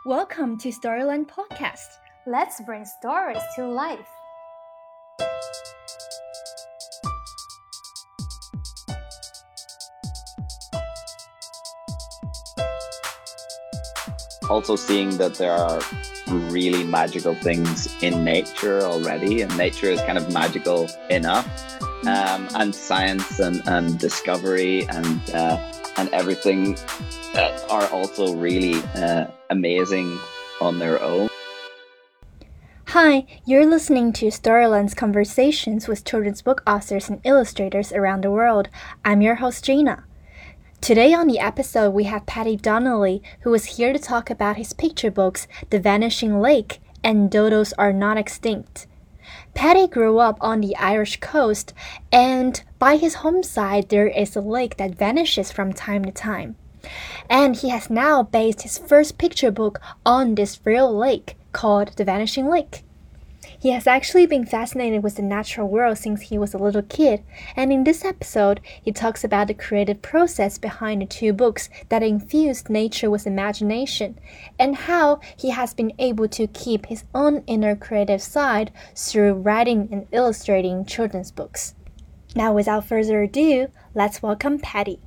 Welcome to Storyland Podcast. Let's bring stories to life. Also seeing that there are really magical things in nature already, and nature is kind of magical enough, and science and discovery and everything are also really amazing on their own. Hi, you're listening to Storyland's conversations with children's book authors and illustrators around the world. I'm your host, Gina. Today on the episode, we have Paddy Donnelly, who is here to talk about his picture books, The Vanishing Lake and Dodos Are Not Extinct. Paddy grew up on the Irish coast, and by his home side, there is a lake that vanishes from time to time. And he has now based his first picture book on this real lake called The Vanishing Lake. He has actually been fascinated with the natural world since he was a little kid, and in this episode, he talks about the creative process behind the two books that infused nature with imagination, and how he has been able to keep his own inner creative side through writing and illustrating children's books. Now, without further ado, let's welcome Paddy.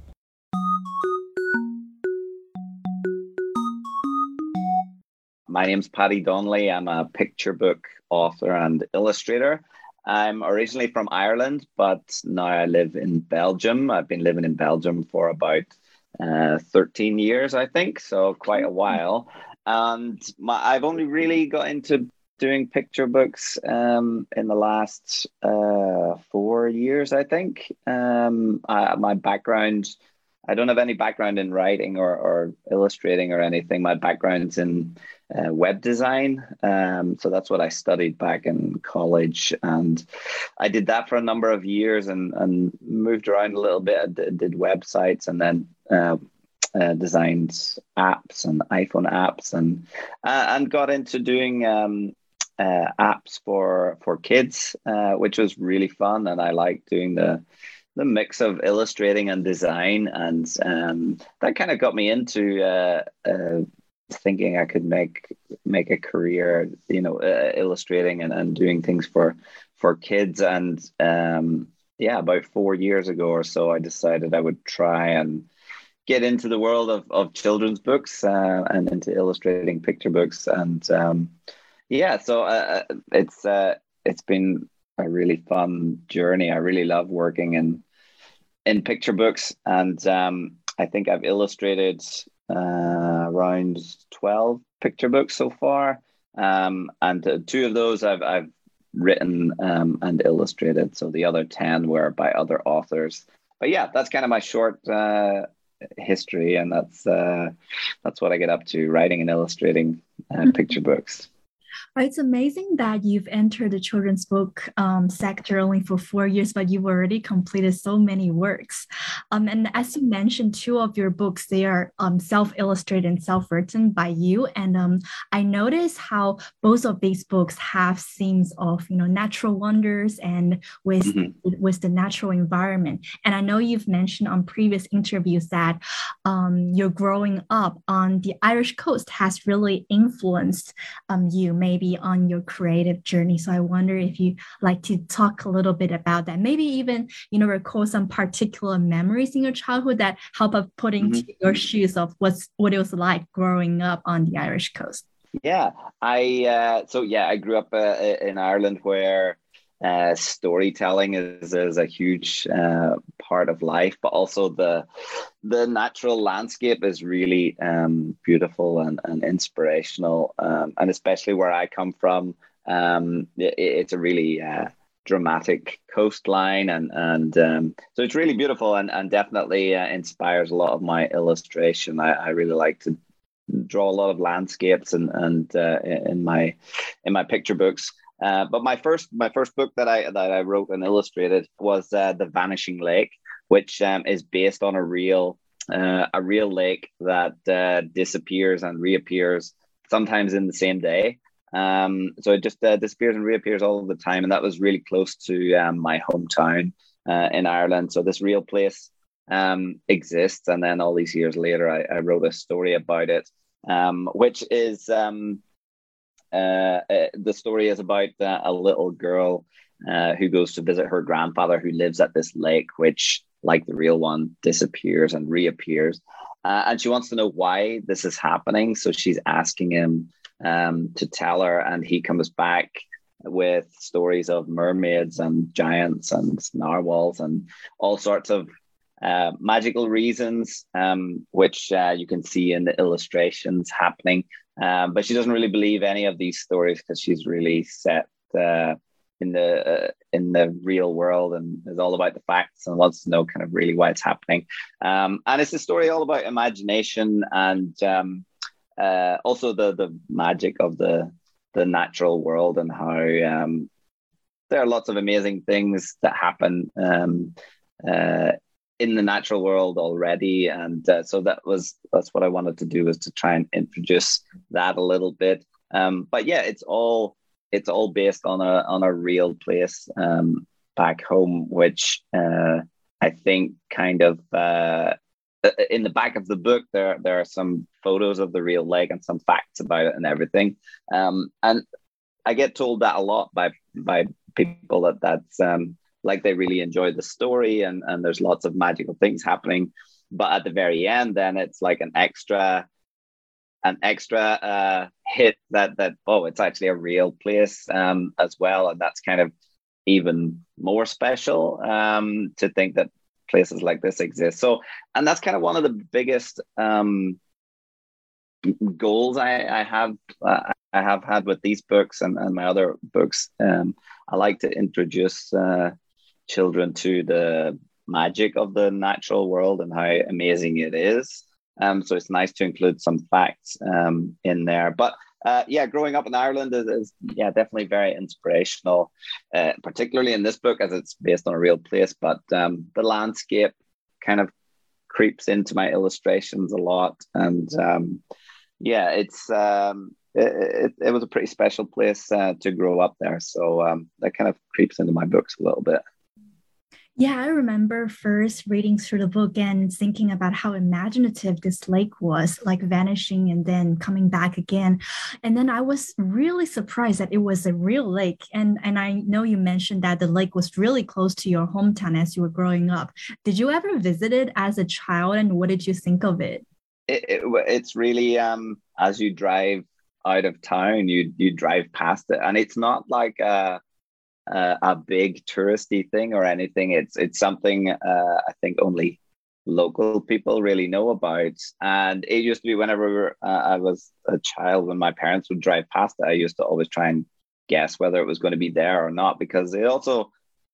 My name's Paddy Donnelly. I'm a picture book author and illustrator. I'm originally from Ireland, but now I live in Belgium. I've been living in Belgium for about 13 years, I think, so quite a while. And I've only really got into doing picture books in the last 4 years, I think. My background, I don't have any background in writing or illustrating or anything. My background's in web design. So that's what I studied back in college. And I did that for a number of years and moved around a little bit. I did websites and then designed apps and iPhone apps and got into doing apps for kids, which was really fun. And I liked doing the mix of illustrating and design, and that kind of got me into thinking I could make a career, illustrating and doing things for kids. And about 4 years ago or so, I decided I would try and get into the world of children's books and into illustrating picture books. And so it's been a really fun journey. I really love working in picture books, and I think I've illustrated around 12 picture books so far, and two of those I've written and illustrated. So the other 10 were by other authors. But yeah, that's kind of my short history, and that's what I get up to, writing and illustrating picture books. It's amazing that you've entered the children's book sector only for 4 years, but you've already completed so many works. And as you mentioned, two of your books, they are self-illustrated and self-written by you. And I noticed how both of these books have themes of, natural wonders and with the natural environment. And I know you've mentioned on previous interviews that your growing up on the Irish coast has really influenced you maybe on your creative journey. So I wonder if you like to talk a little bit about that, maybe even, recall some particular memories in your childhood that help us put into your shoes of what it was like growing up on the Irish coast. Yeah, I grew up in Ireland, where storytelling is a huge part of life, but also the natural landscape is really beautiful and inspirational, and especially where I come from, it's a really dramatic coastline, and so it's really beautiful and definitely inspires a lot of my illustration. I really like to draw a lot of landscapes and in my picture books. But my first book that I wrote and illustrated was The Vanishing Lake, which is based on a real lake that disappears and reappears sometimes in the same day. So it just disappears and reappears all the time, and that was really close to my hometown in Ireland. So this real place exists, and then all these years later, I wrote a story about it. which is the story is about a little girl who goes to visit her grandfather who lives at this lake, which, like the real one, disappears and reappears. And she wants to know why this is happening. So she's asking him to tell her, and he comes back with stories of mermaids and giants and narwhals and all sorts of magical reasons, which you can see in the illustrations happening. But she doesn't really believe any of these stories because she's really set in the real world and is all about the facts and wants to know kind of really why it's happening. And it's a story all about imagination and also the magic of the natural world and how there are lots of amazing things that happen in the natural world already. And so that's what I wanted to do, was to try and introduce that a little bit. But yeah, it's all based on a real place back home, which I think kind of in the back of the book there are some photos of the real lake and some facts about it and everything. And I get told that a lot by people that's like they really enjoy the story and there's lots of magical things happening. But at the very end, then it's like an extra hit that oh, it's actually a real place as well, and that's kind of even more special to think that places like this exist. So, and that's kind of one of the biggest goals I have had with these books and my other books. I like to introduce children to the magic of the natural world and how amazing it is. So it's nice to include some facts in there. But yeah, growing up in Ireland is definitely very inspirational, particularly in this book as it's based on a real place. But the landscape kind of creeps into my illustrations a lot. And yeah, it was a pretty special place to grow up there. So that kind of creeps into my books a little bit. Yeah, I remember first reading through the book and thinking about how imaginative this lake was, like vanishing and then coming back again. And then I was really surprised that it was a real lake. And I know you mentioned that the lake was really close to your hometown as you were growing up. Did you ever visit it as a child, and what did you think of it? It's really as you drive out of town, you drive past it, and it's not like a big touristy thing or anything. It's something I think only local people really know about. And it used to be whenever I was a child, when my parents would drive past it, I used to always try and guess whether it was going to be there or not, because it also,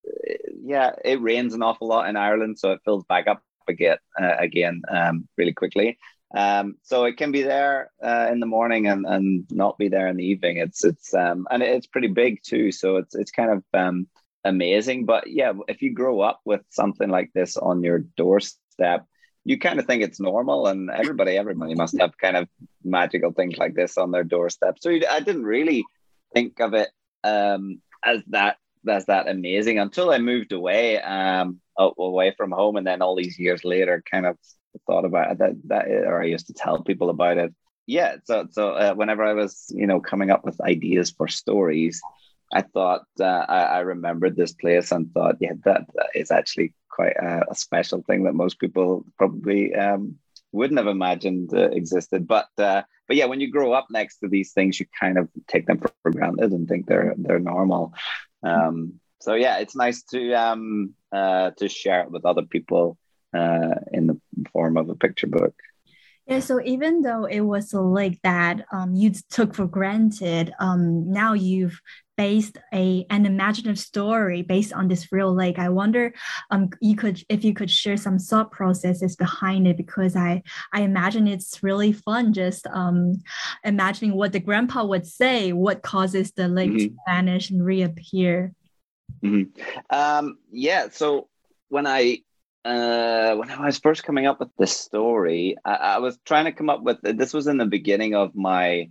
it rains an awful lot in Ireland, so it fills back up again really quickly. So it can be there in the morning and not be there in the evening. It's and it's pretty big too, so it's kind of amazing. But yeah, if you grow up with something like this on your doorstep, you kind of think it's normal, and everybody must have kind of magical things like this on their doorstep. So I didn't really think of it as that amazing until I moved away away from home, and then all these years later, kind of thought about it, or I used to tell people about it. Yeah, so whenever I was coming up with ideas for stories, I thought I remembered this place and thought, yeah, that is actually quite a special thing that most people probably wouldn't have imagined existed. But yeah, when you grow up next to these things, you kind of take them for granted and think they're normal. So yeah, it's nice to share it with other people in the form of a picture book. Yeah, so even though it was a lake that you took for granted, now you've based an imaginative story based on this real lake. I wonder if you could share some thought processes behind it, because I imagine it's really fun just imagining what the grandpa would say, what causes the lake to vanish and reappear. Yeah, so when I was first coming up with this story, I was trying to come up with, this was in the beginning of my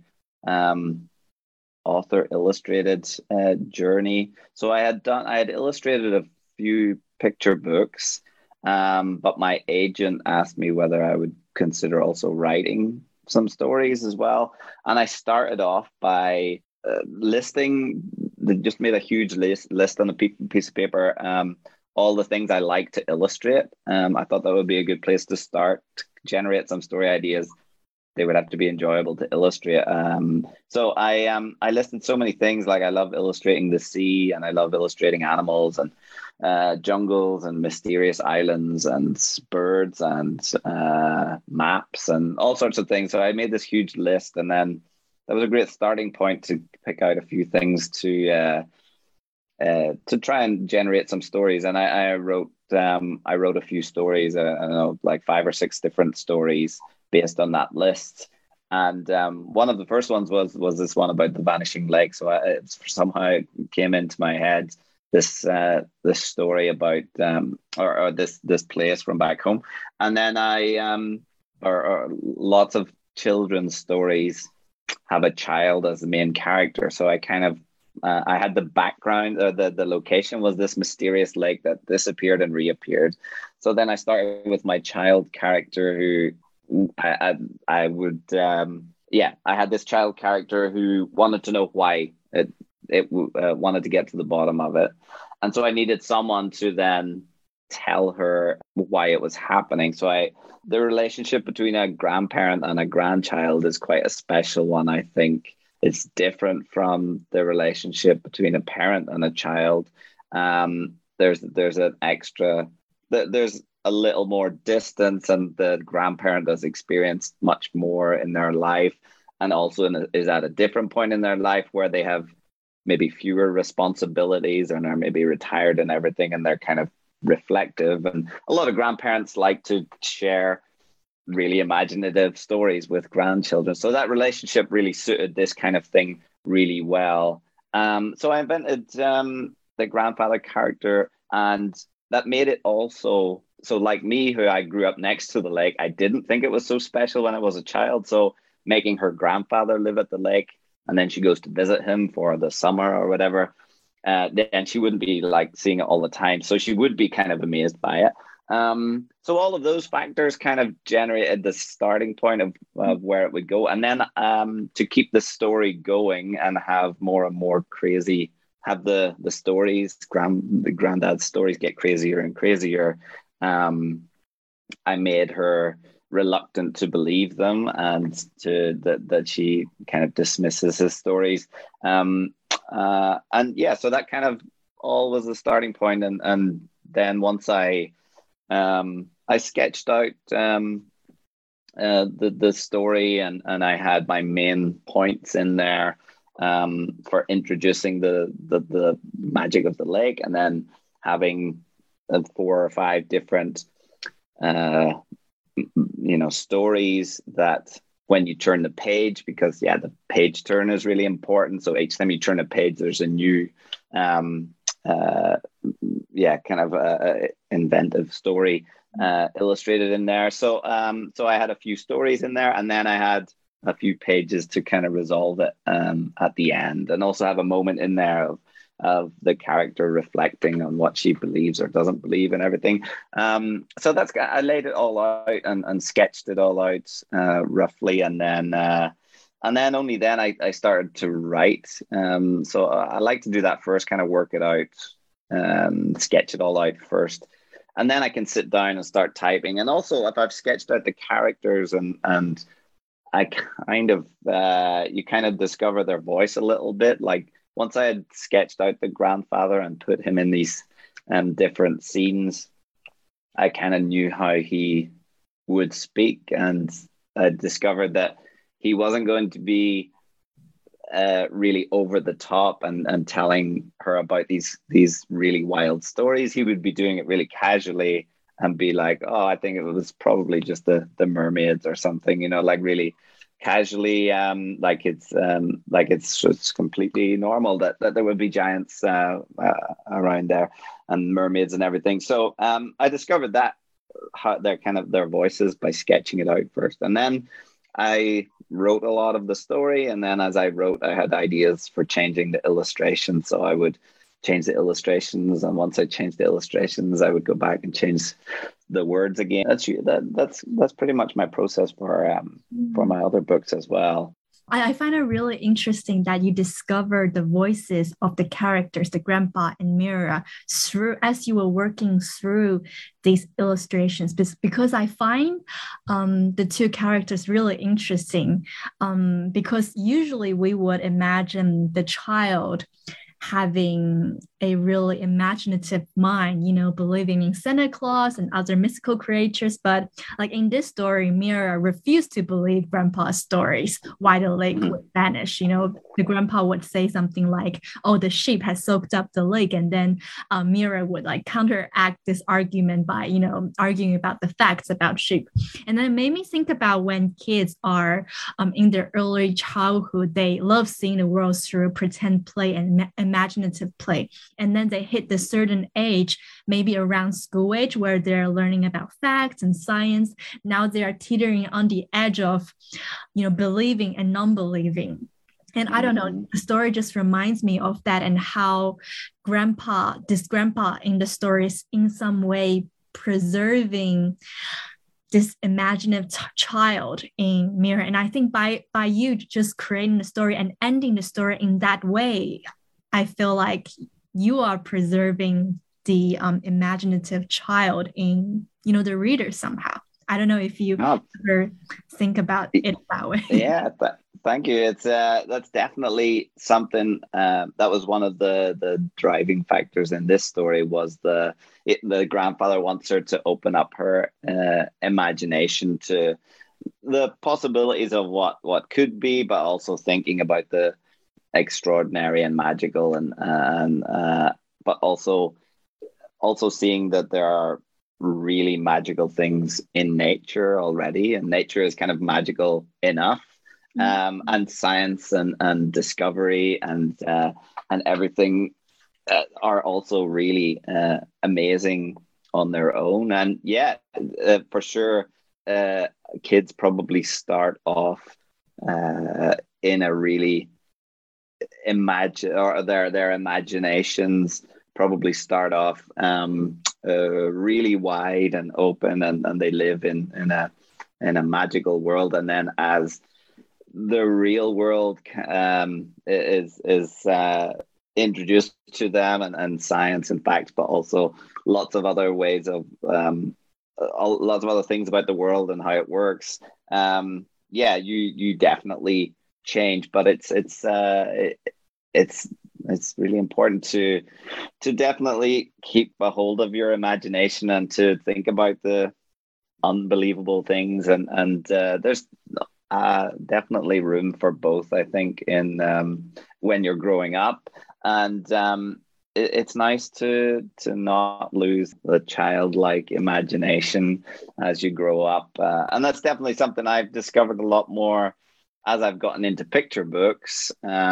author illustrated journey. So I had illustrated a few picture books, but my agent asked me whether I would consider also writing some stories as well. And I started off by listing, just made a huge list on a piece of paper, all the things I like to illustrate. I thought that would be a good place to start, to generate some story ideas. They would have to be enjoyable to illustrate. So I listed so many things. Like I love illustrating the sea, and I love illustrating animals and jungles and mysterious islands and birds and maps and all sorts of things. So I made this huge list, and then that was a great starting point to pick out a few things to try and generate some stories. And I wrote a few stories, I don't know, like 5 or 6 different stories based on that list. And one of the first ones was this one about the vanishing lake. So it somehow came into my head, this story about or this place from back home. And then or lots of children's stories have a child as the main character. So I kind of I had the background, the location was this mysterious lake that disappeared and reappeared. So then I started with my child character, who I had this child character who wanted to know why it wanted to get to the bottom of it. And so I needed someone to then tell her why it was happening. So the relationship between a grandparent and a grandchild is quite a special one, I think. It's different from the relationship between a parent and a child. There's a little more distance, and the grandparent has experienced much more in their life, and also is at a different point in their life where they have maybe fewer responsibilities and are maybe retired and everything, and they're kind of reflective. And a lot of grandparents like to share really imaginative stories with grandchildren. So that relationship really suited this kind of thing really well. So I invented the grandfather character, and that made it also, so like me, who I grew up next to the lake, I didn't think it was so special when I was a child. So making her grandfather live at the lake, and then she goes to visit him for the summer or whatever, then she wouldn't be like seeing it all the time. So she would be kind of amazed by it. So all of those factors kind of generated the starting point of where it would go. And then to keep the story going and have more and more crazy, have the stories, the granddad's stories get crazier and crazier. I made her reluctant to believe them, and that she kind of dismisses his stories. And yeah, so that kind of all was the starting point. And then once I sketched out the story, and I had my main points in there for introducing the magic of the lake, and then having 4 or 5 different stories that when you turn the page, because the page turn is really important. So each time you turn a page, there's a new inventive story illustrated in there. So I had a few stories in there, and then I had a few pages to kind of resolve it at the end, and also have a moment in there of the character reflecting on what she believes or doesn't believe and everything. So I laid it all out and sketched it all out roughly, and then only then I started to write. So I like to do that first, kind of work it out, sketch it all out first, and then I can sit down and start typing. And also, if I've sketched out the characters and I kind of you kind of discover their voice a little bit. Like once I had sketched out the grandfather and put him in these different scenes, I kind of knew how he would speak, and I discovered that he wasn't going to be really over the top and telling her about these really wild stories. He would be doing it really casually and be like, oh, I think it was probably just the mermaids or something, like really casually, like it's just completely normal that there would be giants around there and mermaids and everything. So I discovered that how their voices by sketching it out first, and then I wrote a lot of the story. And then as I wrote, I had ideas for changing the illustrations. So I would change the illustrations, and once I changed the illustrations, I would go back and change the words again. That's pretty much my process for my other books as well. I find it really interesting that you discovered the voices of the characters, the grandpa and Mira, through as you were working through these illustrations. Because I find the two characters really interesting. Because usually we would imagine the child having a really imaginative mind, believing in Santa Claus and other mystical creatures. But like in this story, Mira refused to believe grandpa's stories why the lake would vanish. The grandpa would say something like, oh, the sheep has soaked up the lake. And then Mira would like counteract this argument by, arguing about the facts about sheep. And then it made me think about when kids are in their early childhood, they love seeing the world through pretend play and imaginative play. And then they hit the certain age, maybe around school age, where they're learning about facts and science. Now they are teetering on the edge of, believing and non-believing. And I don't know, the story just reminds me of that, and how this grandpa in the story is in some way preserving this imaginative child in Mira. And I think by you just creating the story and ending the story in that way, I feel like you are preserving the imaginative child in, the reader somehow. I don't know if you ever think about it that way. Yeah, thank you. It's that's definitely something that was one of the driving factors in this story. Was the grandfather wants her to open up her imagination to the possibilities of what could be, but also thinking about the extraordinary and magical, and but also seeing that there are really magical things in nature already, and nature is kind of magical enough, and science and discovery and everything are also really amazing on their own. And for sure, kids probably start off in a really their imaginations probably start off really wide and open, and they live in a magical world. And then as the real world is introduced to them, and science and facts, but also lots of other ways of lots of other things about the world and how it works, you definitely change. But it's really important to definitely keep a hold of your imagination and to think about the unbelievable things, and there's definitely room for both, I think, in when you're growing up. And it's nice to not lose the childlike imagination as you grow up, and that's definitely something I've discovered a lot more as I've gotten into picture books.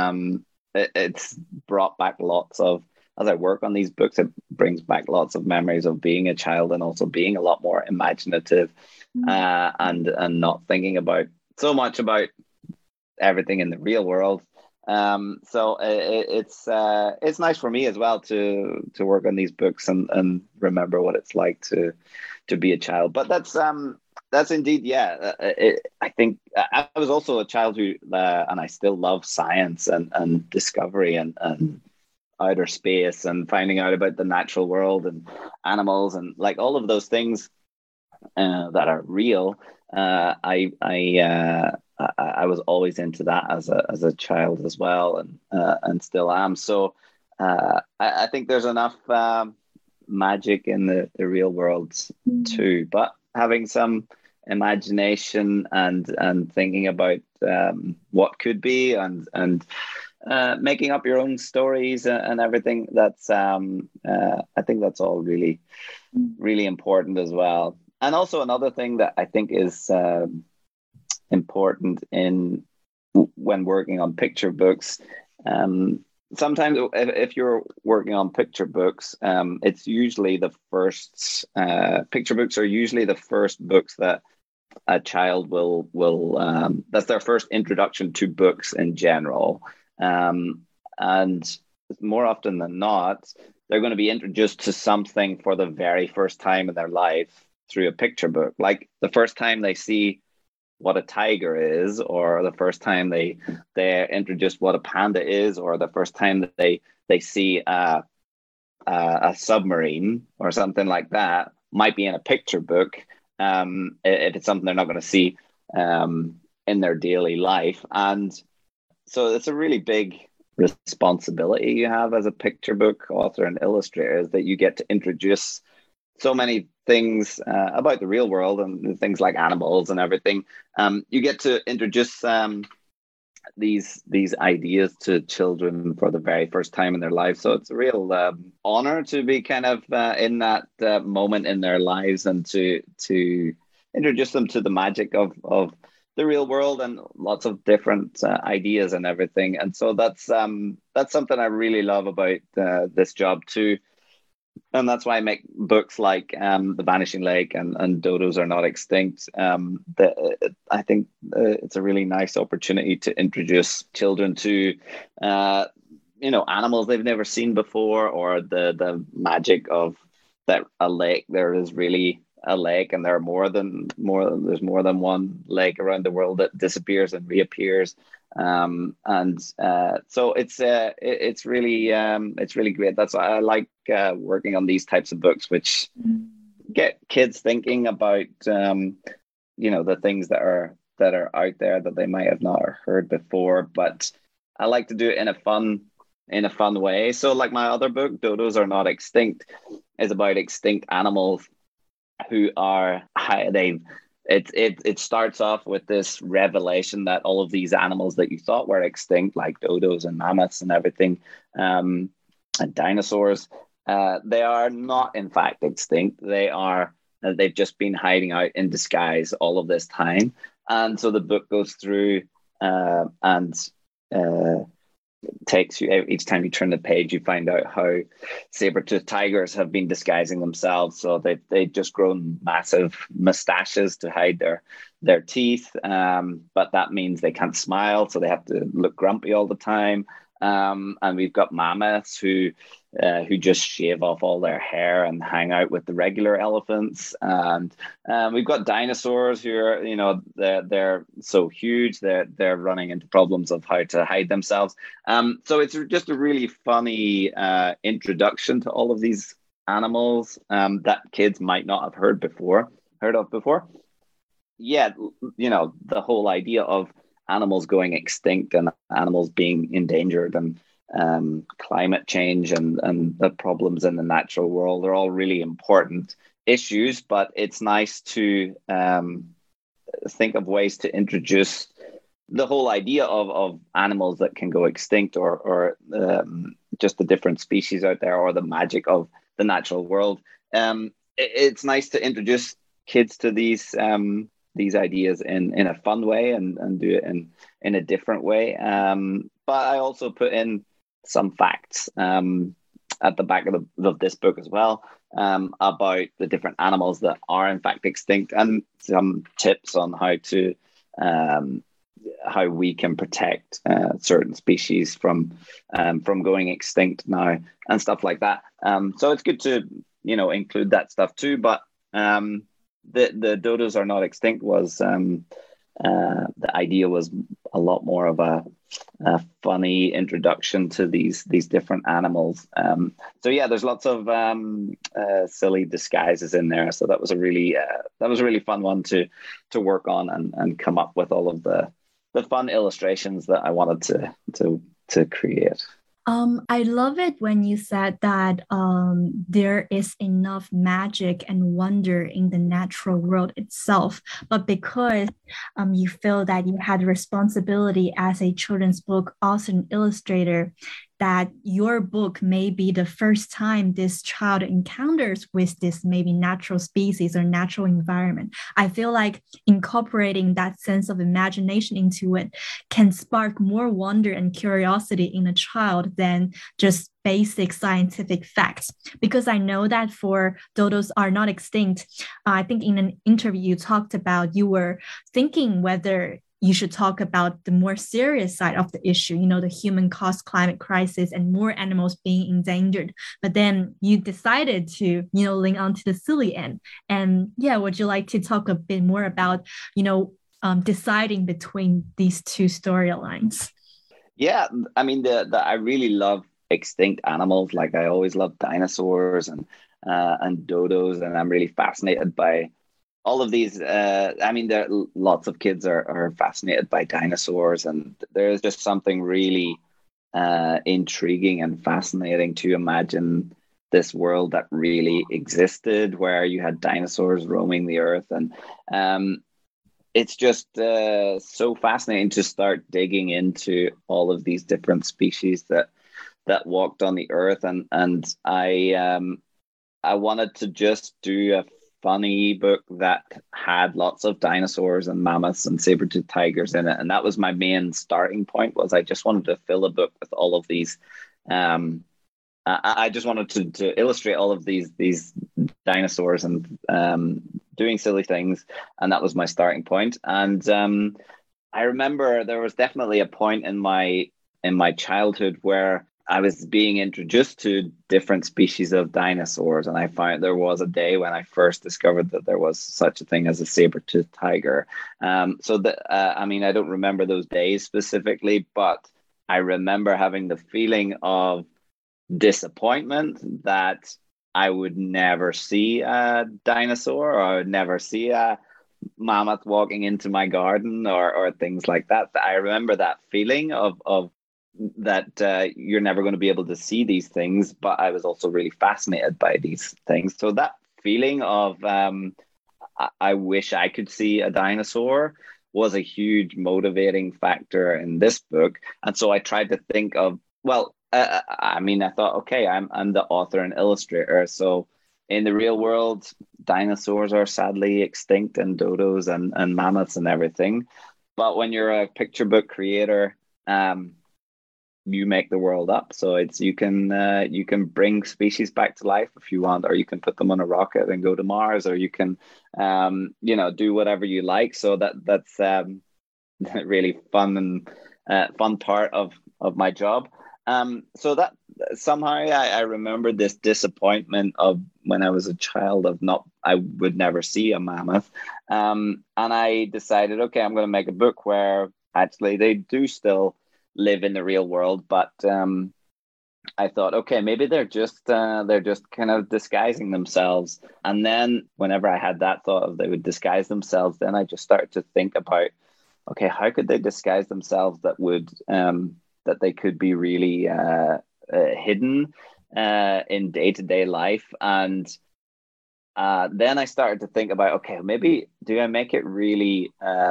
It's brought back as I work on these books, it brings back lots of memories of being a child, and also being a lot more imaginative, and not thinking about so much about everything in the real world. So it's nice for me as well to work on these books and remember what it's like to be a child. But that's indeed, I think I was also a child who, and I still love science and discovery and outer space and finding out about the natural world and animals and like all of those things that are real. I was always into that as a child as well, and still am. So I think there's enough magic in the real world too, but having some imagination and thinking about what could be, and making up your own stories and everything, that's I think that's all really, really important as well. And also another thing that I think is important when working on picture books, sometimes if you're working on picture books, it's usually the first picture books are usually the first books that a child will that's their first introduction to books in general, and more often than not they're going to be introduced to something for the very first time in their life through a picture book. Like the first time they see what a tiger is, or the first time they're introduced what a panda is, or the first time that they see a submarine or something like that, might be in a picture book. If it's something they're not going to see in their daily life. And so it's a really big responsibility you have as a picture book author and illustrator, is that you get to introduce so many things about the real world and things like animals and everything. You get to introduce these ideas to children for the very first time in their life. So it's a real honor to be kind of in that moment in their lives, and to introduce them to the magic of the real world and lots of different ideas and everything. And so that's something I really love about this job too. And that's why I make books like The Vanishing Lake and Dodos Are Not Extinct. I think it's a really nice opportunity to introduce children to animals they've never seen before, or the magic of that a lake. There is really a lake, and there's more than one lake around the world that disappears and reappears. So it's really great. That's why I like working on these types of books, which get kids thinking about the things that are out there that they might have not heard before. But I like to do it in a fun way. So like my other book, Dodos Are Not Extinct, is about extinct animals who are it starts off with this revelation that all of these animals that you thought were extinct, like dodos and mammoths and everything, and dinosaurs, they are not in fact extinct. They've just been hiding out in disguise all of this time. And so the book goes through and takes you, each time you turn the page, you find out how saber-toothed tigers have been disguising themselves. So they've just grown massive mustaches to hide their teeth, but that means they can't smile, so they have to look grumpy all the time. And we've got mammoths who just shave off all their hair and hang out with the regular elephants. And we've got dinosaurs who are, they're so huge they're running into problems of how to hide themselves. So it's just a really funny introduction to all of these animals that kids might not have heard of before. Yeah, the whole idea of animals going extinct and animals being endangered and climate change and the problems in the natural world are all really important issues. But it's nice to think of ways to introduce the whole idea of animals that can go extinct, or just the different species out there, or the magic of the natural world. It's nice to introduce kids to these ideas in a fun way and do it in a different way. But I also put in some facts at the back of this book as well, about the different animals that are in fact extinct, and some tips on how we can protect certain species from going extinct now and stuff like that. So it's good to include that stuff too. But the Dodos Are Not Extinct was the idea was a lot more of a funny introduction to these different animals. So yeah, there's lots of silly disguises in there. So that was a really fun one to work on and come up with all of the fun illustrations that I wanted to create. I love it when you said that there is enough magic and wonder in the natural world itself, but because you feel that you had responsibility as a children's book author and illustrator, that your book may be the first time this child encounters with this maybe natural species or natural environment. I feel like incorporating that sense of imagination into it can spark more wonder and curiosity in a child than just basic scientific facts. Because I know that for Dodos Are Not Extinct, I think in an interview you talked about you were thinking whether you should talk about the more serious side of the issue, the human caused climate crisis and more animals being endangered. But then you decided to, link onto the silly end. And yeah, would you like to talk a bit more about, deciding between these two storylines? Yeah, I mean I really love extinct animals. Like I always loved dinosaurs and dodos, and I'm really fascinated by all of these. I mean, lots of kids are fascinated by dinosaurs, and there's just something really intriguing and fascinating to imagine this world that really existed, where you had dinosaurs roaming the earth, and it's just so fascinating to start digging into all of these different species that walked on the earth, and I wanted to just do a funny book that had lots of dinosaurs and mammoths and saber-toothed tigers in it, and that was my main starting point. Was I just wanted to fill a book with all of these. I just wanted to illustrate all of these dinosaurs and doing silly things, and that was my starting point. And I remember there was definitely a point in my childhood where I was being introduced to different species of dinosaurs, and I found there was a day when I first discovered that there was such a thing as a saber-toothed tiger. I mean, I don't remember those days specifically, but I remember having the feeling of disappointment that I would never see a dinosaur, or I would never see a mammoth walking into my garden, or things like that. I remember that feeling of that you're never going to be able to see these things, but I was also really fascinated by these things. So that feeling of I wish I could see a dinosaur was a huge motivating factor in this book. And so I tried to think of, well, I mean, I thought, okay, I'm the author and illustrator. So in the real world, dinosaurs are sadly extinct, and dodos and mammoths and everything. But when you're a picture book creator, you make the world up. So you can bring species back to life if you want, or you can put them on a rocket and go to Mars, or you can do whatever you like. So that's really fun and fun part of my job. So that somehow I remember this disappointment of when I was a child of I would never see a mammoth. And I decided, okay, I'm going to make a book where actually they do still live in the real world, but I thought, okay, maybe they're just kind of disguising themselves. And then whenever I had that thought of they would disguise themselves, then I just started to think about, okay, how could they disguise themselves that they could be really hidden in day-to-day life. And then I started to think about, okay, maybe do I make it really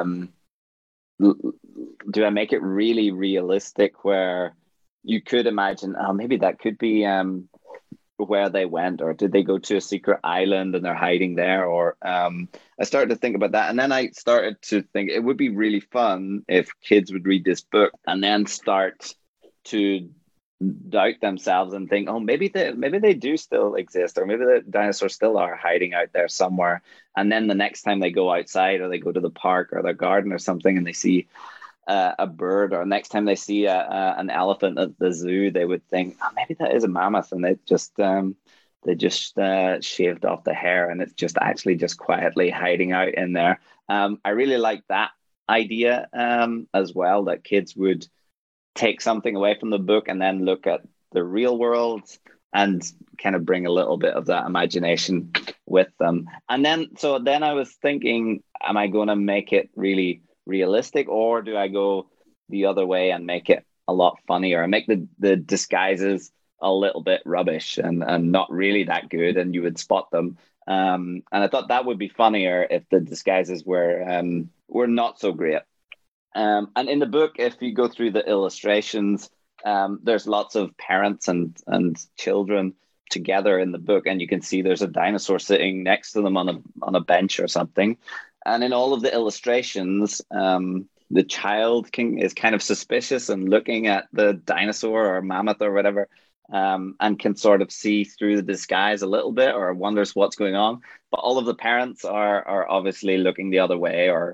realistic, where you could imagine, oh, maybe that could be where they went, or did they go to a secret island and they're hiding there? Or I started to think about that, and then I started to think it would be really fun if kids would read this book and then start to doubt themselves and think, oh, maybe they do still exist, or maybe the dinosaurs still are hiding out there somewhere. And then the next time they go outside, or they go to the park or their garden or something, and they see a bird, or next time they see an elephant at the zoo, they would think, oh, maybe that is a mammoth, and they just shaved off the hair, and it's just actually just quietly hiding out in there. I really like that idea as well, that kids would take something away from the book and then look at the real world and kind of bring a little bit of that imagination with them. And then I was thinking, am I going to make it really realistic, or do I go the other way and make it a lot funnier and make the disguises a little bit rubbish and not really that good, and you would spot them? And I thought that would be funnier if the disguises were not so great. And in the book, if you go through the illustrations, there's lots of parents and children together in the book, and you can see there's a dinosaur sitting next to them on a bench or something. And in all of the illustrations, the child is kind of suspicious and looking at the dinosaur or mammoth or whatever, and can sort of see through the disguise a little bit, or wonders what's going on. But all of the parents are obviously looking the other way, or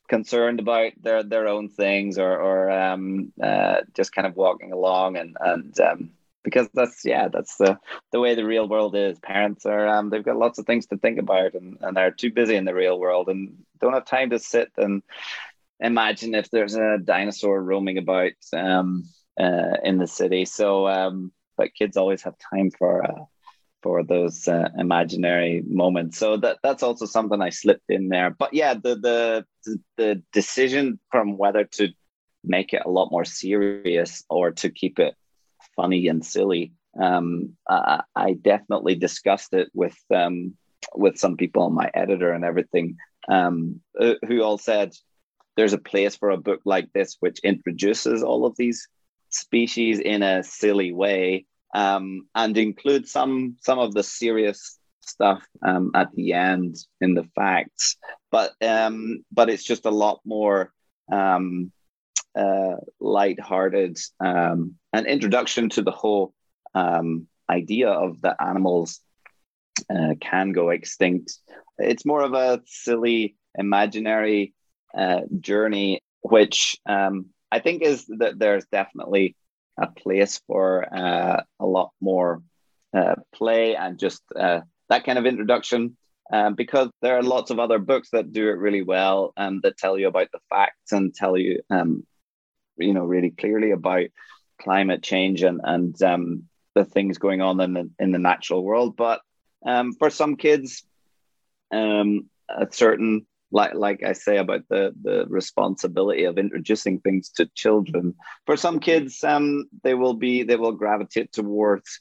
concerned about their own things, or just kind of walking along, and because that's the way the real world is. Parents are they've got lots of things to think about, and they're too busy in the real world and don't have time to sit and imagine if there's a dinosaur roaming about in the city. So but kids always have time for those imaginary moments. So that's also something I slipped in there. But yeah, the decision from whether to make it a lot more serious or to keep it funny and silly, I definitely discussed it with some people, my editor and everything, who all said there's a place for a book like this which introduces all of these species in a silly way, and include some of the serious stuff at the end in the facts, but it's just a lot more light-hearted, an introduction to the whole idea of the animals can go extinct. It's more of a silly, imaginary journey, which I think is that there's definitely a place for a lot more play and just that kind of introduction, because there are lots of other books that do it really well, that tell you about the facts and tell you, really clearly about climate change and the things going on in the natural world. But for some kids, a certain, like I say about the responsibility of introducing things to children, for some kids, they will gravitate towards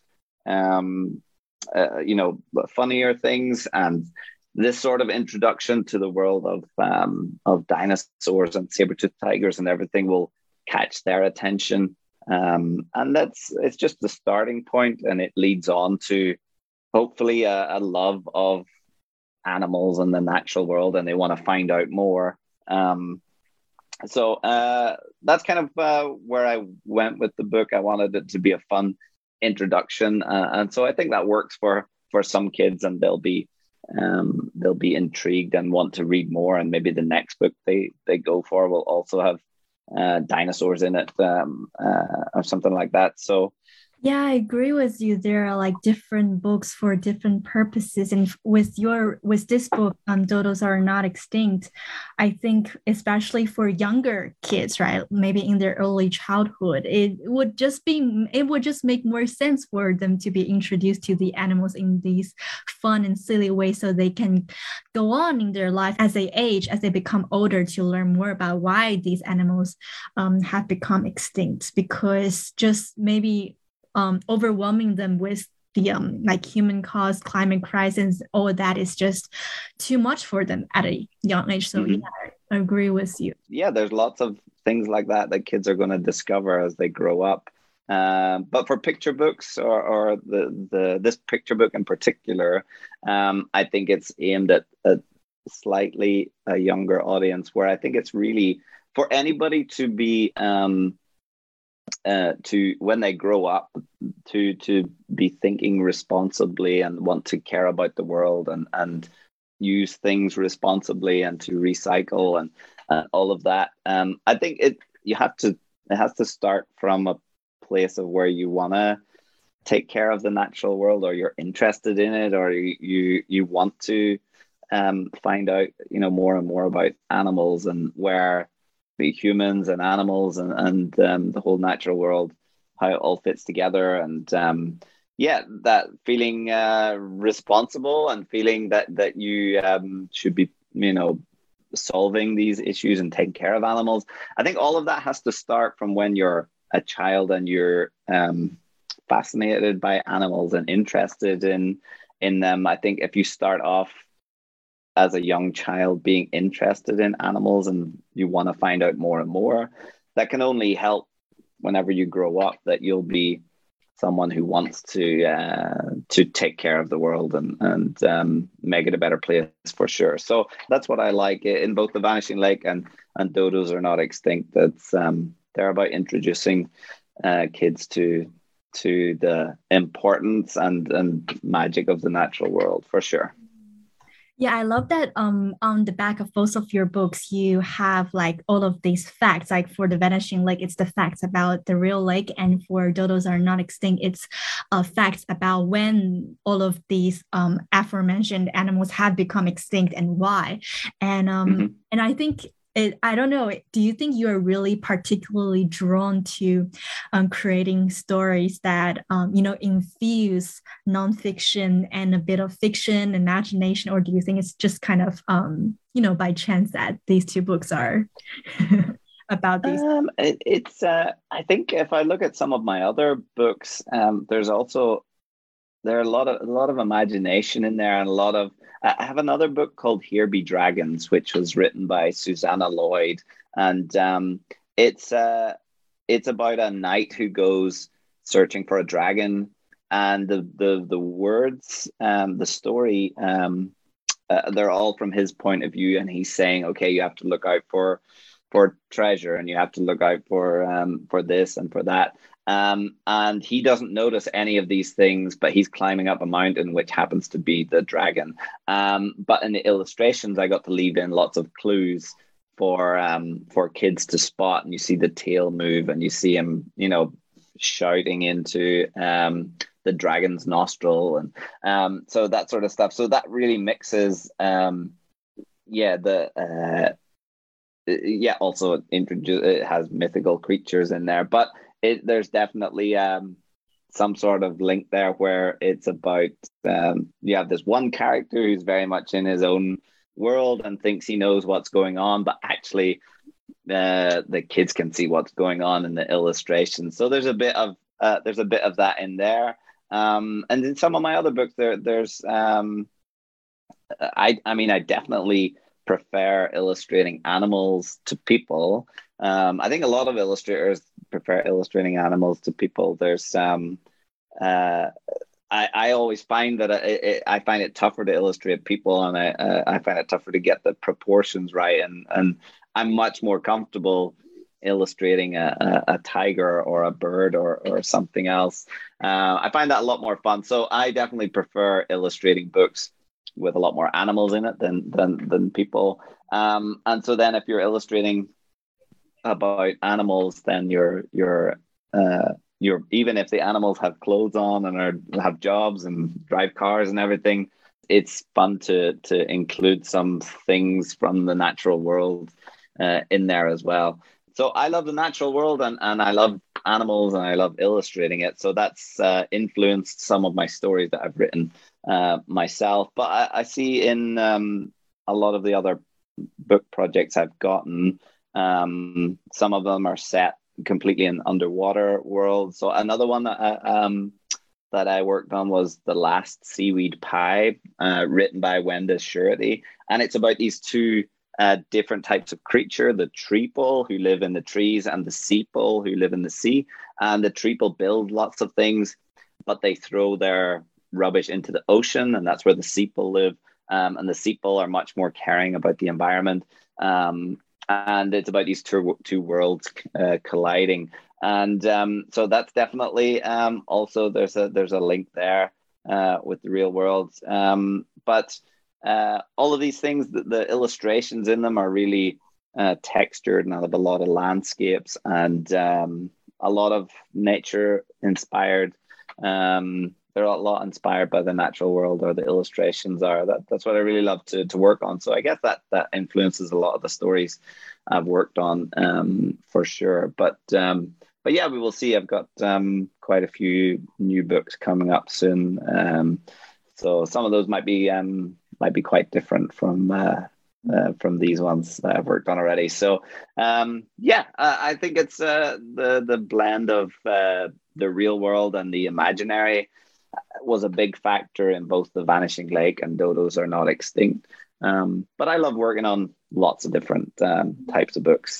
funnier things, and this sort of introduction to the world of dinosaurs and saber-toothed tigers and everything will catch their attention, and it's just the starting point, and it leads on to hopefully a love of animals and the natural world, and they want to find out more. So that's kind of where I went with the book. I wanted it to be a fun introduction, and so I think that works for some kids, and they'll be intrigued and want to read more, and maybe the next book they go for will also have dinosaurs in it, or something like that. So Yeah, I agree with you. There are like different books for different purposes. And with this book, Dodos Are Not Extinct, I think especially for younger kids, right? Maybe in their early childhood, it would just make more sense for them to be introduced to the animals in these fun and silly ways, so they can go on in their life as they age, as they become older, to learn more about why these animals have become extinct. Because just maybe overwhelming them with the like human caused climate crisis, all that is just too much for them at a young age. So yeah, I agree with you. Yeah, there's lots of things like that kids are going to discover as they grow up. But for picture books, or this picture book in particular, I think it's aimed at slightly a younger audience, where I think it's really for anybody to be to, when they grow up, to be thinking responsibly and want to care about the world and use things responsibly and to recycle and all of that. I think it has to start from a place of where you want to take care of the natural world, or you're interested in it, or you want to find out more and more about animals, and where the humans and animals and the whole natural world, how it all fits together, and that feeling responsible, and feeling that you should be solving these issues and taking care of animals. I think all of that has to start from when you're a child and you're fascinated by animals and interested in them. I think if you start off as a young child being interested in animals and you want to find out more and more, that can only help whenever you grow up, that you'll be someone who wants to take care of the world and make it a better place, for sure. So that's what I like in both The Vanishing Lake and Dodos Are Not Extinct. That's they're about introducing kids to the importance and magic of the natural world, for sure. Yeah, I love that on the back of both of your books you have like all of these facts. Like for the vanishing lake, it's the facts about the real lake, and for dodos are not extinct, it's facts about when all of these aforementioned animals have become extinct and why. Hmm. And I think I don't know, do you think you are really particularly drawn to creating stories that infuse nonfiction and a bit of fiction, imagination, or do you think it's just kind of by chance that these two books are about these? It's I think if I look at some of my other books, there are a lot of imagination in there, and a lot of I have another book called Here Be Dragons, which was written by Susanna Lloyd, and it's it's about a knight who goes searching for a dragon, and the words, the story, they're all from his point of view, and he's saying, okay, you have to look out for treasure, and you have to look out for this and for that. And he doesn't notice any of these things, but he's climbing up a mountain, which happens to be the dragon. But in the illustrations, I got to leave in lots of clues for kids to spot, and you see the tail move, and you see him, shouting into the dragon's nostril, and so that sort of stuff. So that really mixes, yeah, the yeah. Also, it has mythical creatures in there, but there's definitely some sort of link there where it's about you have this one character who's very much in his own world and thinks he knows what's going on, but actually the kids can see what's going on in the illustration. So there's a bit of that in there. And in some of my other books, there's I mean, I definitely prefer illustrating animals to people. I think a lot of illustrators prefer illustrating animals to people. There's uh, I always find that I find it tougher to illustrate people, and I find it tougher to get the proportions right, and I'm much more comfortable illustrating a tiger or a bird or something else. I find that a lot more fun. So I definitely prefer illustrating books with a lot more animals in it than people. And so then if you're illustrating about animals, then you're even if the animals have clothes on and have jobs and drive cars and everything, it's fun to include some things from the natural world in there as well. So I love the natural world, and I love animals, and I love illustrating it. So that's influenced some of my stories that I've written myself. But I see in a lot of the other book projects I've gotten, some of them are set completely in underwater worlds. So another one that I worked on was The Last Seaweed Pie, written by Wenda Surety, and it's about these two different types of creature: the treeple, who live in the trees, and the seaple, who live in the sea. And the treeple build lots of things, but they throw their rubbish into the ocean, and that's where the seaple live. And the seaple are much more caring about the environment. And it's about these two worlds colliding. And so that's definitely also there's a link there with the real world. But all of these things, the illustrations in them are really textured, and I have a lot of landscapes and a lot of nature inspired. They're a lot inspired by the natural world, or the illustrations are. That's what I really love to work on. So I guess that influences a lot of the stories I've worked on, for sure. But yeah, we will see. I've got quite a few new books coming up soon. So some of those might be quite different from these ones that I've worked on already. So yeah, I think it's the blend of the real world and the imaginary was a big factor in both The Vanishing Lake and Dodos Are Not Extinct. But I love working on lots of different types of books.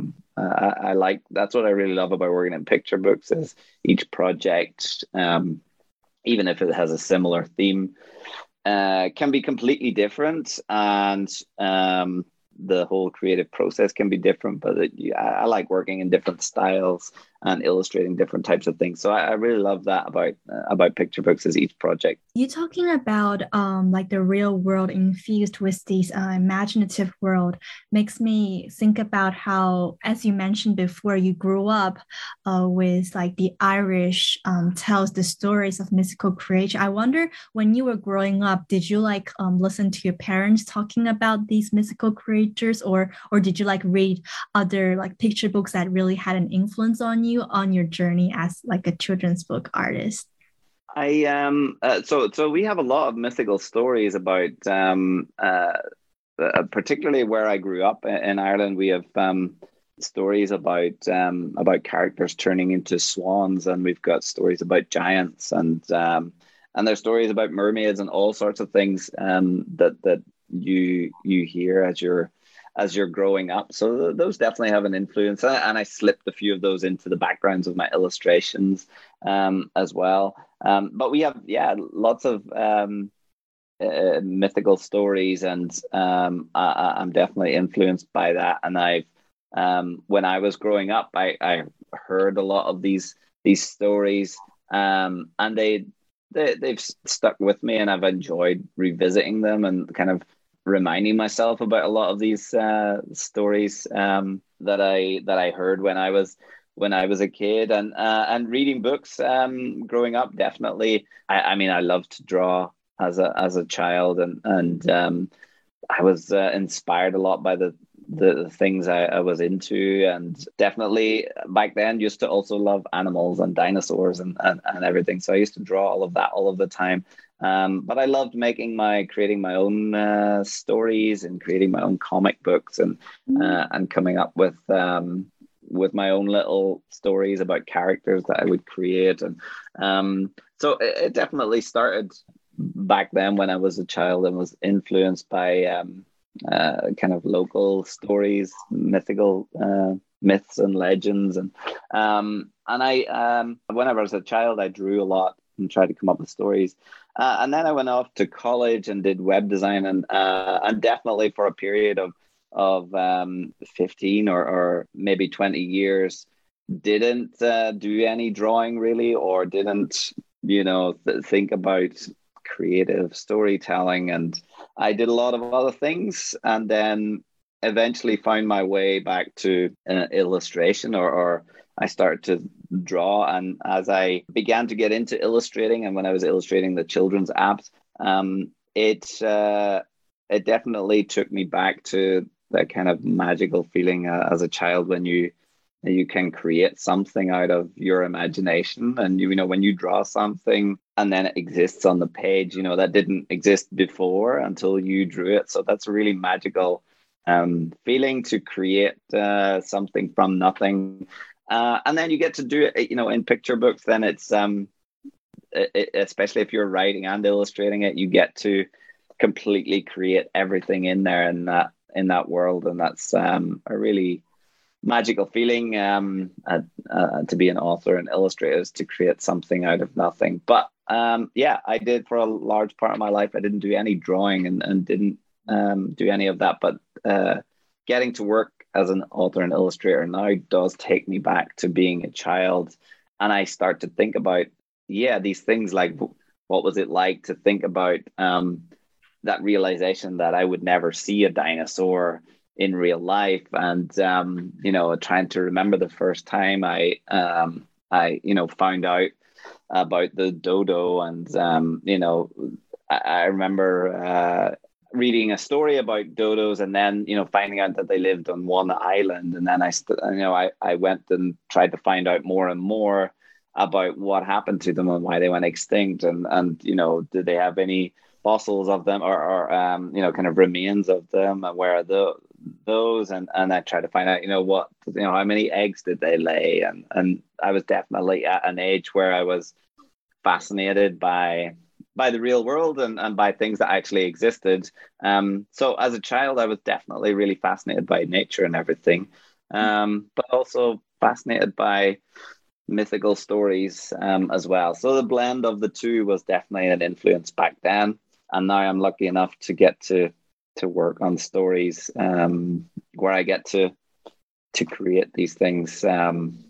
I like, that's what I really love about working in picture books, is each project, even if it has a similar theme, can be completely different, and the whole creative process can be different. But I like working in different styles and illustrating different types of things. So I really love that about picture books, is each project You talking about like the real world infused with these imaginative world makes me think about how, as you mentioned before, you grew up with like the Irish tells the stories of mystical creature. I wonder when you were growing up, did you like listen to your parents talking about these mystical creatures, or did you like read other like picture books that really had an influence on you on your journey as like a children's book artist? So we have a lot of mythical stories about particularly where I grew up in Ireland. We have stories about characters turning into swans, and we've got stories about giants, and there's stories about mermaids and all sorts of things that you hear as you're growing up. So those definitely have an influence, and I slipped a few of those into the backgrounds of my illustrations as well. But we have, yeah, lots of mythical stories, and I'm definitely influenced by that. And when I was growing up, I heard a lot of these stories, and they've stuck with me, and I've enjoyed revisiting them and kind of reminding myself about a lot of these stories that I heard when I was a kid, and reading books growing up. Definitely, I mean, I loved to draw as a child, and I was inspired a lot by the things I was into, and definitely back then used to also love animals and dinosaurs and everything. So I used to draw all of that all of the time. But I loved creating my own stories and creating my own comic books, and coming up with my own little stories about characters that I would create. And so it definitely started back then when I was a child, and was influenced by kind of local stories, mythical myths and legends. And whenever I was a child, I drew a lot and tried to come up with stories. And then I went off to college and did web design, and definitely for a period of 15 or maybe 20 years didn't do any drawing really, or didn't think about creative storytelling. And I did a lot of other things, and then eventually found my way back to illustration, or I started to draw. And as I began to get into illustrating, and when I was illustrating the children's apps, it definitely took me back to that kind of magical feeling as a child, when you can create something out of your imagination. And when you draw something and then it exists on the page, that didn't exist before until you drew it. So that's a really magical feeling, to create something from nothing. And then you get to do it, in picture books. Then it's especially if you're writing and illustrating it, you get to completely create everything in there, in that world. And that's a really magical feeling, to be an author and illustrator, is to create something out of nothing. But yeah, I did, for a large part of my life, I didn't do any drawing, and didn't do any of that. But getting to work as an author and illustrator now does take me back to being a child, and I start to think about, these things, like what was it like to think about that realization that I would never see a dinosaur in real life, and trying to remember the first time I found out about the dodo. And I remember reading a story about dodos, and then finding out that they lived on one island. And then I went and tried to find out more and more about what happened to them and why they went extinct, and did they have any fossils of them, or kind of remains of them, and where are those. And I tried to find out how many eggs did they lay. And I was definitely at an age where I was fascinated by the real world, and by things that actually existed. So as a child, I was definitely really fascinated by nature and everything, but also fascinated by mythical stories as well. So the blend of the two was definitely an influence back then. And now I'm lucky enough to get to work on stories where I get to create these things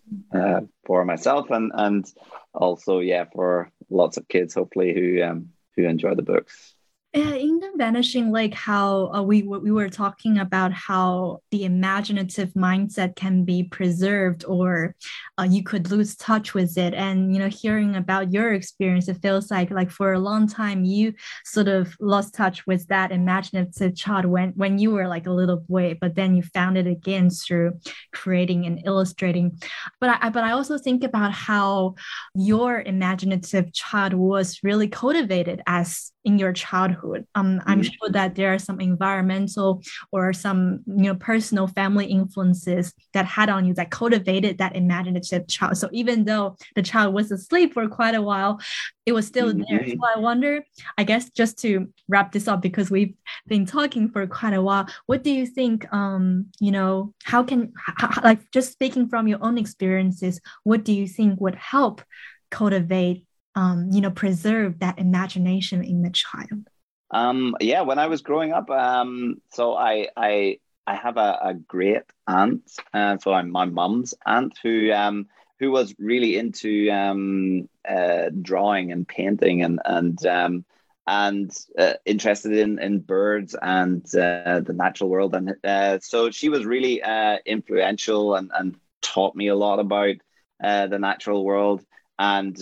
for myself, and also, for lots of kids, hopefully, who enjoy the books. Yeah, in the Vanishing Lake, how we were talking about how the imaginative mindset can be preserved, or you could lose touch with it. And hearing about your experience, it feels like for a long time you sort of lost touch with that imaginative child when you were like a little boy, but then you found it again through creating and illustrating. But I also think about how your imaginative child was really cultivated as in your childhood. I'm sure that there are some environmental or some personal family influences that had on you that cultivated that imaginative child. So even though the child was asleep for quite a while, it was still there. So I wonder, I guess, just to wrap this up, because we've been talking for quite a while, what do you think, like just speaking from your own experiences, what do you think would help cultivate preserve that imagination in the child? Yeah, when I was growing up, so I have a great aunt, so I'm my mum's aunt who was really into drawing and painting and interested in birds and the natural world, and so she was really influential and taught me a lot about the natural world. And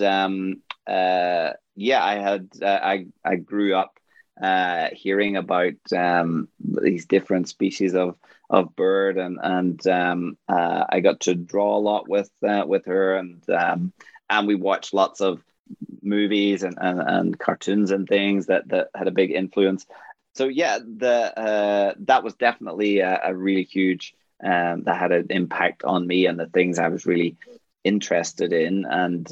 I grew up hearing about these different species of bird, and I got to draw a lot with her, and we watched lots of movies and cartoons and things that had a big influence. So yeah, that was definitely a really huge that had an impact on me and the things I was really interested in,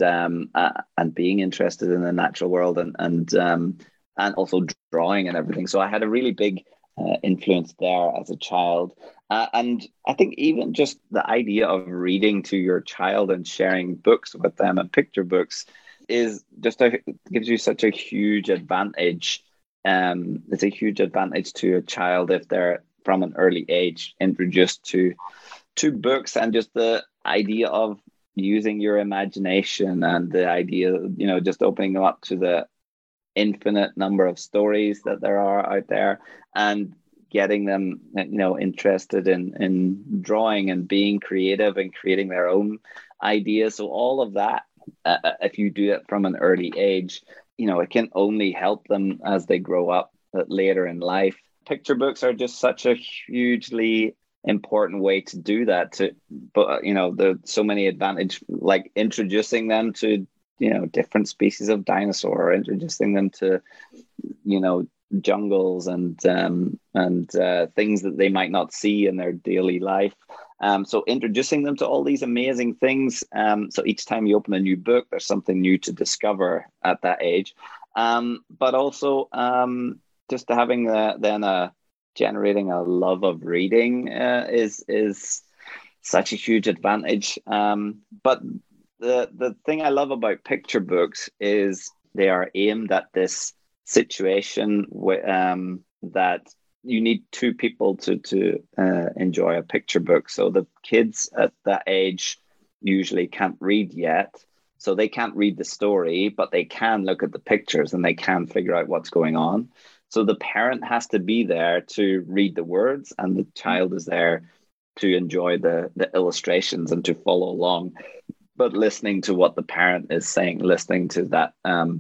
and being interested in the natural world, and also drawing and everything. So I had a really big influence there as a child. And I think even just the idea of reading to your child and sharing books with them and picture books is just gives you such a huge advantage. It's a huge advantage to a child if they're from an early age introduced to books, and just the idea of using your imagination, and the idea, just opening them up to the infinite number of stories that there are out there, and getting them, interested in drawing and being creative and creating their own ideas. So all of that, if you do it from an early age, it can only help them as they grow up later in life. Picture books are just such a hugely important way to do that. But there's so many advantages, like introducing them to different species of dinosaur, introducing them to jungles and things that they might not see in their daily life. So introducing them to all these amazing things. So each time you open a new book, there's something new to discover at that age. But also just having generating a love of reading is such a huge advantage. But the thing I love about picture books is they are aimed at this situation that you need two people to enjoy a picture book. So the kids at that age usually can't read yet, so they can't read the story, but they can look at the pictures and they can figure out what's going on. So the parent has to be there to read the words, and the child is there to enjoy the illustrations and to follow along, but listening to what the parent is saying, listening to that,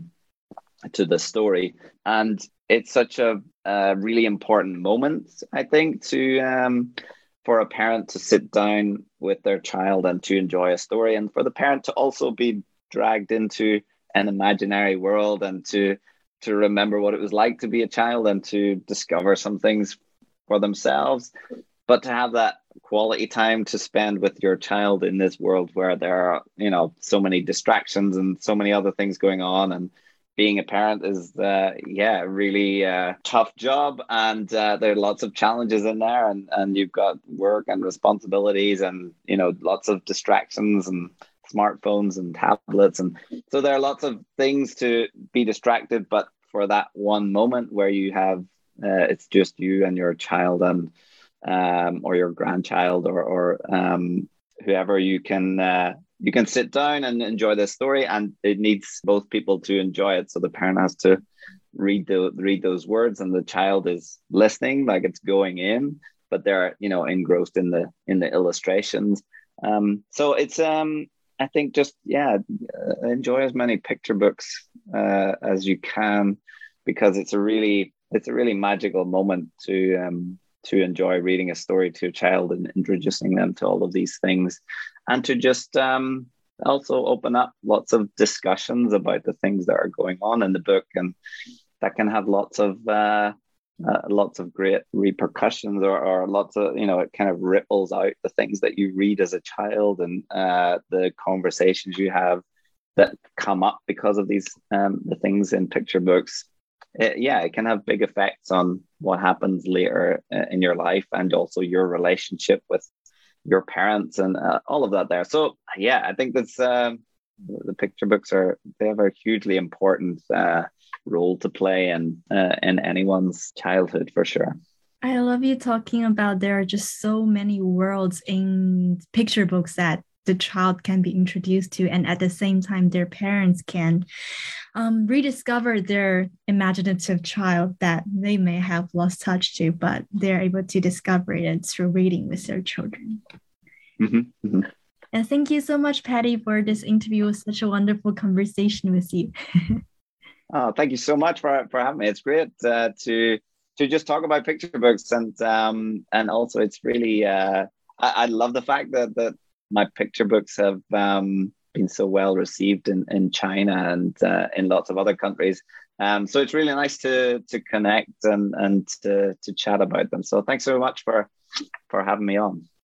to the story. And it's such a really important moment, I think, for a parent to sit down with their child and to enjoy a story, and for the parent to also be dragged into an imaginary world, and to remember what it was like to be a child and to discover some things for themselves. But to have that quality time to spend with your child in this world where there are, so many distractions and so many other things going on, and being a parent is, really tough job, and there are lots of challenges in there, and you've got work and responsibilities, and lots of distractions and smartphones and tablets, and so there are lots of things to be distracted. But for that one moment where you have it's just you and your child, and or your grandchild, or whoever, you can sit down and enjoy this story, and it needs both people to enjoy it. So the parent has to read those words, and the child is listening, like it's going in, but they're engrossed in the illustrations. So it's I think just enjoy as many picture books as you can, because it's a really magical moment to enjoy reading a story to a child and introducing them to all of these things, and to just also open up lots of discussions about the things that are going on in the book, and that can have lots of great repercussions, or lots of, it kind of ripples out the things that you read as a child, and the conversations you have that come up because of these the things in picture books. It can have big effects on what happens later in your life, and also your relationship with your parents, and all of that there. So I think that's the picture books they have a hugely important role to play in anyone's childhood, for sure. I love you talking about there are just so many worlds in picture books that the child can be introduced to, and at the same time their parents can rediscover their imaginative child that they may have lost touch to, but they're able to discover it through reading with their children. Mm-hmm, mm-hmm. And thank you so much, Patty, for this interview. It was such a wonderful conversation with you. Oh, thank you so much for having me. It's great to just talk about picture books, and also it's really I love the fact that my picture books have been so well received in China and in lots of other countries. So it's really nice to connect and to chat about them. So thanks so much for having me on.